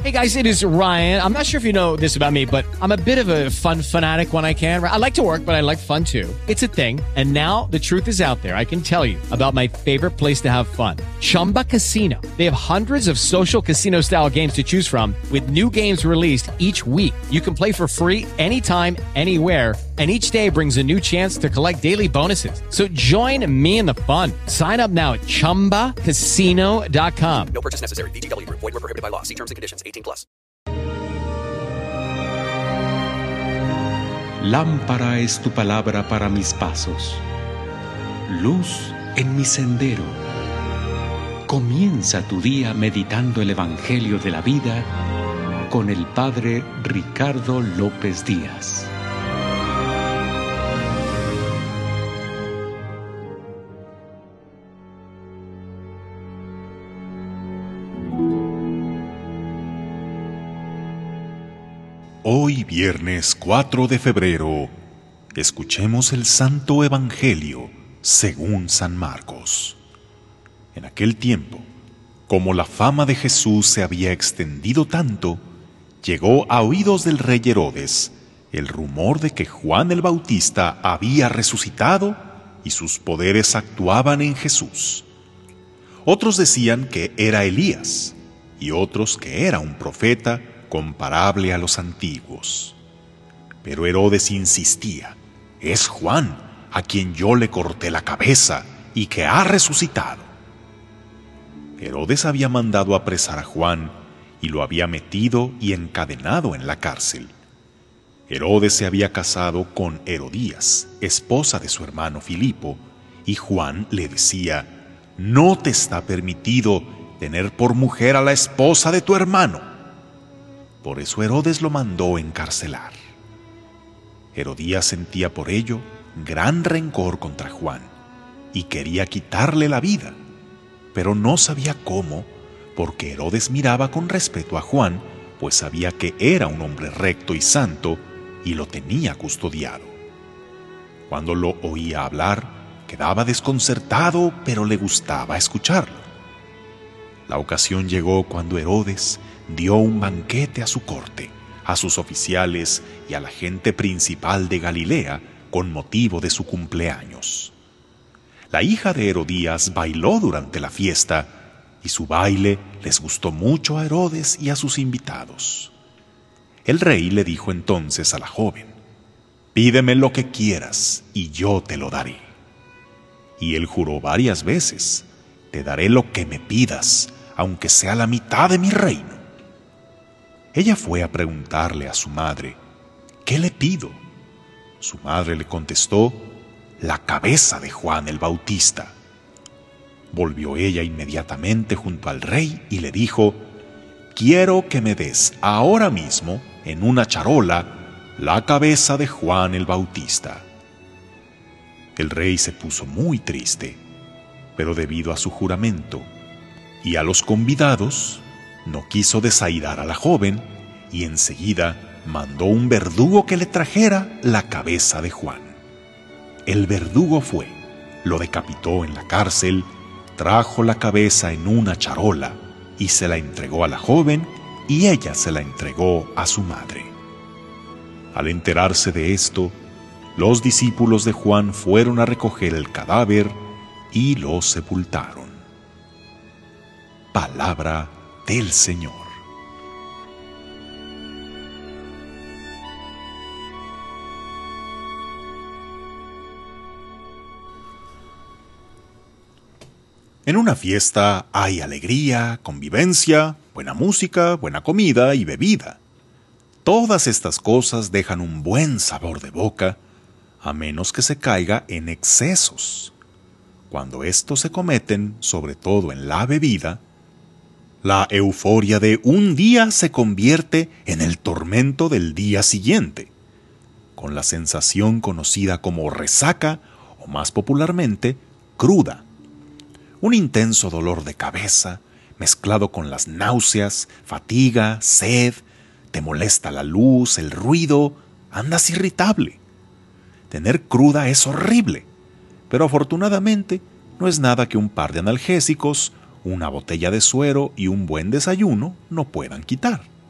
Hey guys, it is Ryan. I'm not sure if you know this about me, but I'm a bit of a fun fanatic when I can. I like to work, but I like fun too. It's a thing. And now the truth is out there. I can tell you about my favorite place to have fun. Chumba Casino. They have hundreds of social casino style games to choose from with new games released each week. You can play for free anytime, anywhere. And each day brings a new chance to collect daily bonuses. So join me in the fun. Sign up now at ChumbaCasino.com. No purchase necessary. VGW Group. Void where prohibited by law. See terms and conditions. 18+. Lámpara es tu palabra para mis pasos, luz en mi sendero. Comienza tu día meditando el Evangelio de la vida con el Padre Ricardo López Díaz. Hoy, viernes 4 de febrero, escuchemos el Santo Evangelio según San Marcos. En aquel tiempo, como la fama de Jesús se había extendido tanto, llegó a oídos del rey Herodes el rumor de que Juan el Bautista había resucitado y sus poderes actuaban en Jesús. Otros decían que era Elías y otros que era un profeta comparable a los antiguos. Pero Herodes insistía: es Juan, a quien yo le corté la cabeza y que ha resucitado. Herodes había mandado apresar a Juan y lo había metido y encadenado en la cárcel. Herodes se había casado con Herodías, esposa de su hermano Filipo, y Juan le decía: no te está permitido tener por mujer a la esposa de tu hermano. Por eso Herodes lo mandó encarcelar. Herodías sentía por ello gran rencor contra Juan y quería quitarle la vida, pero no sabía cómo, porque Herodes miraba con respeto a Juan, pues sabía que era un hombre recto y santo y lo tenía custodiado. Cuando lo oía hablar, quedaba desconcertado, pero le gustaba escucharlo. La ocasión llegó cuando Herodes dio un banquete a su corte, a sus oficiales y a la gente principal de Galilea con motivo de su cumpleaños. La hija de Herodías bailó durante la fiesta y su baile les gustó mucho a Herodes y a sus invitados. El rey le dijo entonces a la joven: pídeme lo que quieras y yo te lo daré. Y él juró varias veces: te daré lo que me pidas, aunque sea la mitad de mi reino. Ella fue a preguntarle a su madre: ¿qué le pido? Su madre le contestó: la cabeza de Juan el Bautista. Volvió ella inmediatamente junto al rey y le dijo: quiero que me des ahora mismo, en una charola, la cabeza de Juan el Bautista. El rey se puso muy triste, pero debido a su juramento y a los convidados, no quiso desairar a la joven y enseguida mandó un verdugo que le trajera la cabeza de Juan. El verdugo fue, lo decapitó en la cárcel, trajo la cabeza en una charola y se la entregó a la joven y ella se la entregó a su madre. Al enterarse de esto, los discípulos de Juan fueron a recoger el cadáver y lo sepultaron. Palabra del Señor. En una fiesta hay alegría, convivencia, buena música, buena comida y bebida. Todas estas cosas dejan un buen sabor de boca, a menos que se caiga en excesos. Cuando estos se cometen, sobre todo en la bebida, la euforia de un día se convierte en el tormento del día siguiente, con la sensación conocida como resaca o más popularmente cruda. Un intenso dolor de cabeza, mezclado con las náuseas, fatiga, sed, te molesta la luz, el ruido, andas irritable. Tener cruda es horrible, pero afortunadamente no es nada que un par de analgésicos, una botella de suero y un buen desayuno no puedan quitar.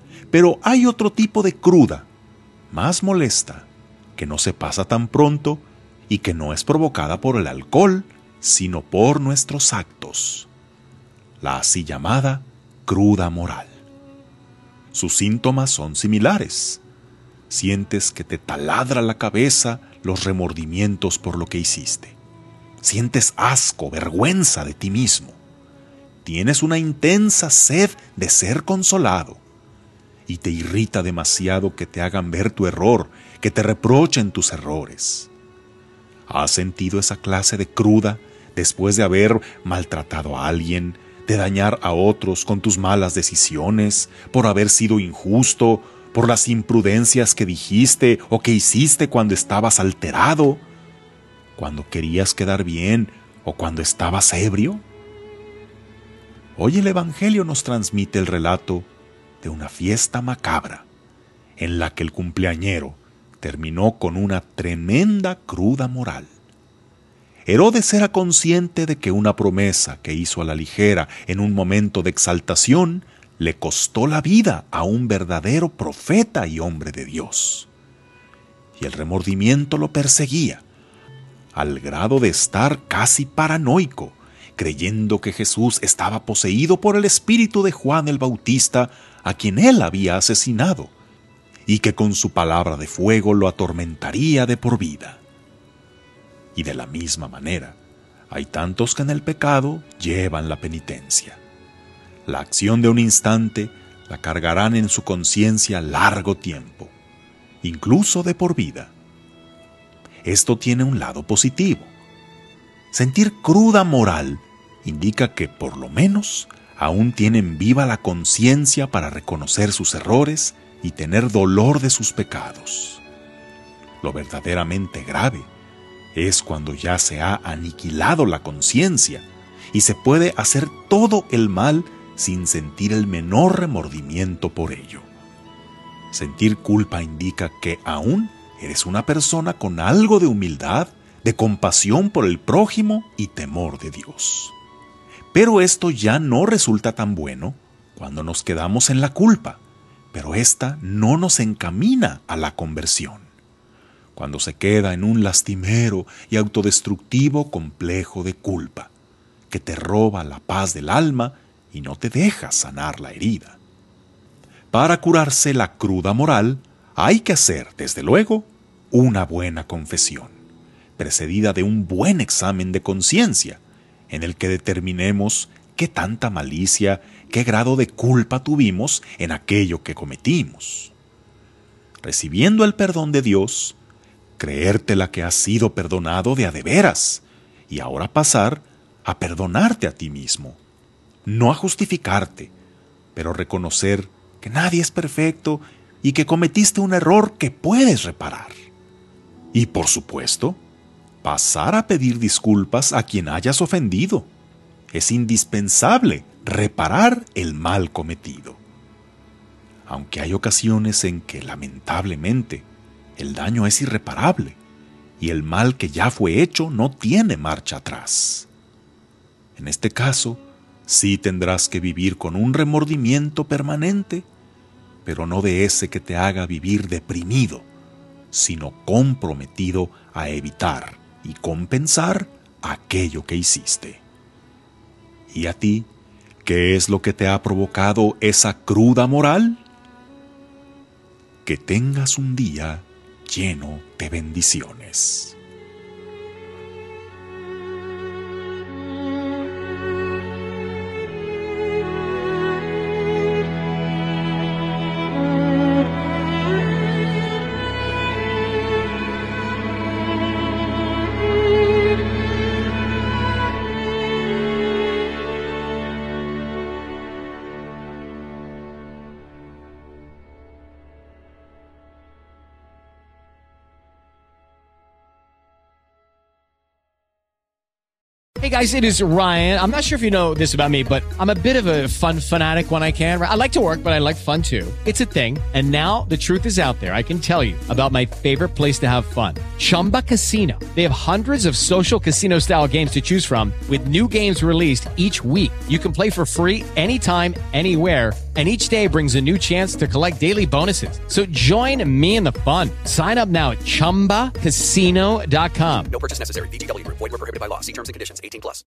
Pero hay otro tipo de cruda, más molesta, que no se pasa tan pronto y que no es provocada por el alcohol, sino por nuestros actos. La así llamada cruda moral. Sus síntomas son similares. Sientes que te taladra la cabeza los remordimientos por lo que hiciste. Sientes asco, vergüenza de ti mismo. Tienes una intensa sed de ser consolado. Y te irrita demasiado que te hagan ver tu error, que te reprochen tus errores. ¿Has sentido esa clase de cruda después de haber maltratado a alguien, de dañar a otros con tus malas decisiones, por haber sido injusto, por las imprudencias que dijiste o que hiciste cuando estabas alterado, cuando querías quedar bien o cuando estabas ebrio? Hoy el Evangelio nos transmite el relato de una fiesta macabra, en la que el cumpleañero terminó con una tremenda cruda moral. Herodes era consciente de que una promesa que hizo a la ligera en un momento de exaltación le costó la vida a un verdadero profeta y hombre de Dios. Y el remordimiento lo perseguía, al grado de estar casi paranoico, creyendo que Jesús estaba poseído por el espíritu de Juan el Bautista, a quien él había asesinado, y que con su palabra de fuego lo atormentaría de por vida. Y de la misma manera, hay tantos que en el pecado llevan la penitencia. La acción de un instante la cargarán en su conciencia largo tiempo, incluso de por vida. Esto tiene un lado positivo. Sentir cruda moral indica que, por lo menos, aún tienen viva la conciencia para reconocer sus errores y tener dolor de sus pecados. Lo verdaderamente grave es cuando ya se ha aniquilado la conciencia y se puede hacer todo el mal sin sentir el menor remordimiento por ello. Sentir culpa indica que aún eres una persona con algo de humildad, de compasión por el prójimo y temor de Dios. Pero esto ya no resulta tan bueno cuando nos quedamos en la culpa, pero esta no nos encamina a la conversión. Cuando se queda en un lastimero y autodestructivo complejo de culpa, que te roba la paz del alma y no te deja sanar la herida. Para curarse la cruda moral, hay que hacer, desde luego, una buena confesión, precedida de un buen examen de conciencia, en el que determinemos qué tanta malicia, qué grado de culpa tuvimos en aquello que cometimos. Recibiendo el perdón de Dios, creértela que has sido perdonado de a de veras, y ahora pasar a perdonarte a ti mismo. No a justificarte, pero reconocer que nadie es perfecto y que cometiste un error que puedes reparar. Y por supuesto, pasar a pedir disculpas a quien hayas ofendido. Es indispensable reparar el mal cometido. Aunque hay ocasiones en que, lamentablemente, el daño es irreparable y el mal que ya fue hecho no tiene marcha atrás. En este caso, sí tendrás que vivir con un remordimiento permanente, pero no de ese que te haga vivir deprimido, sino comprometido a evitar y compensar aquello que hiciste. ¿Y a ti, qué es lo que te ha provocado esa cruda moral? Que tengas un día lleno de bendiciones. Hey guys, it is Ryan. I'm not sure if you know this about me, but I'm a bit of a fun fanatic when I can. I like to work, but I like fun too. It's a thing. And now the truth is out there. I can tell you about my favorite place to have fun. Chumba Casino. They have hundreds of social casino style games to choose from with new games released each week. You can play for free anytime, anywhere. And each day brings a new chance to collect daily bonuses. So join me in the fun. Sign up now at ChumbaCasino.com. No purchase necessary. VGW Group. Void where prohibited by law. See terms and conditions. 18+.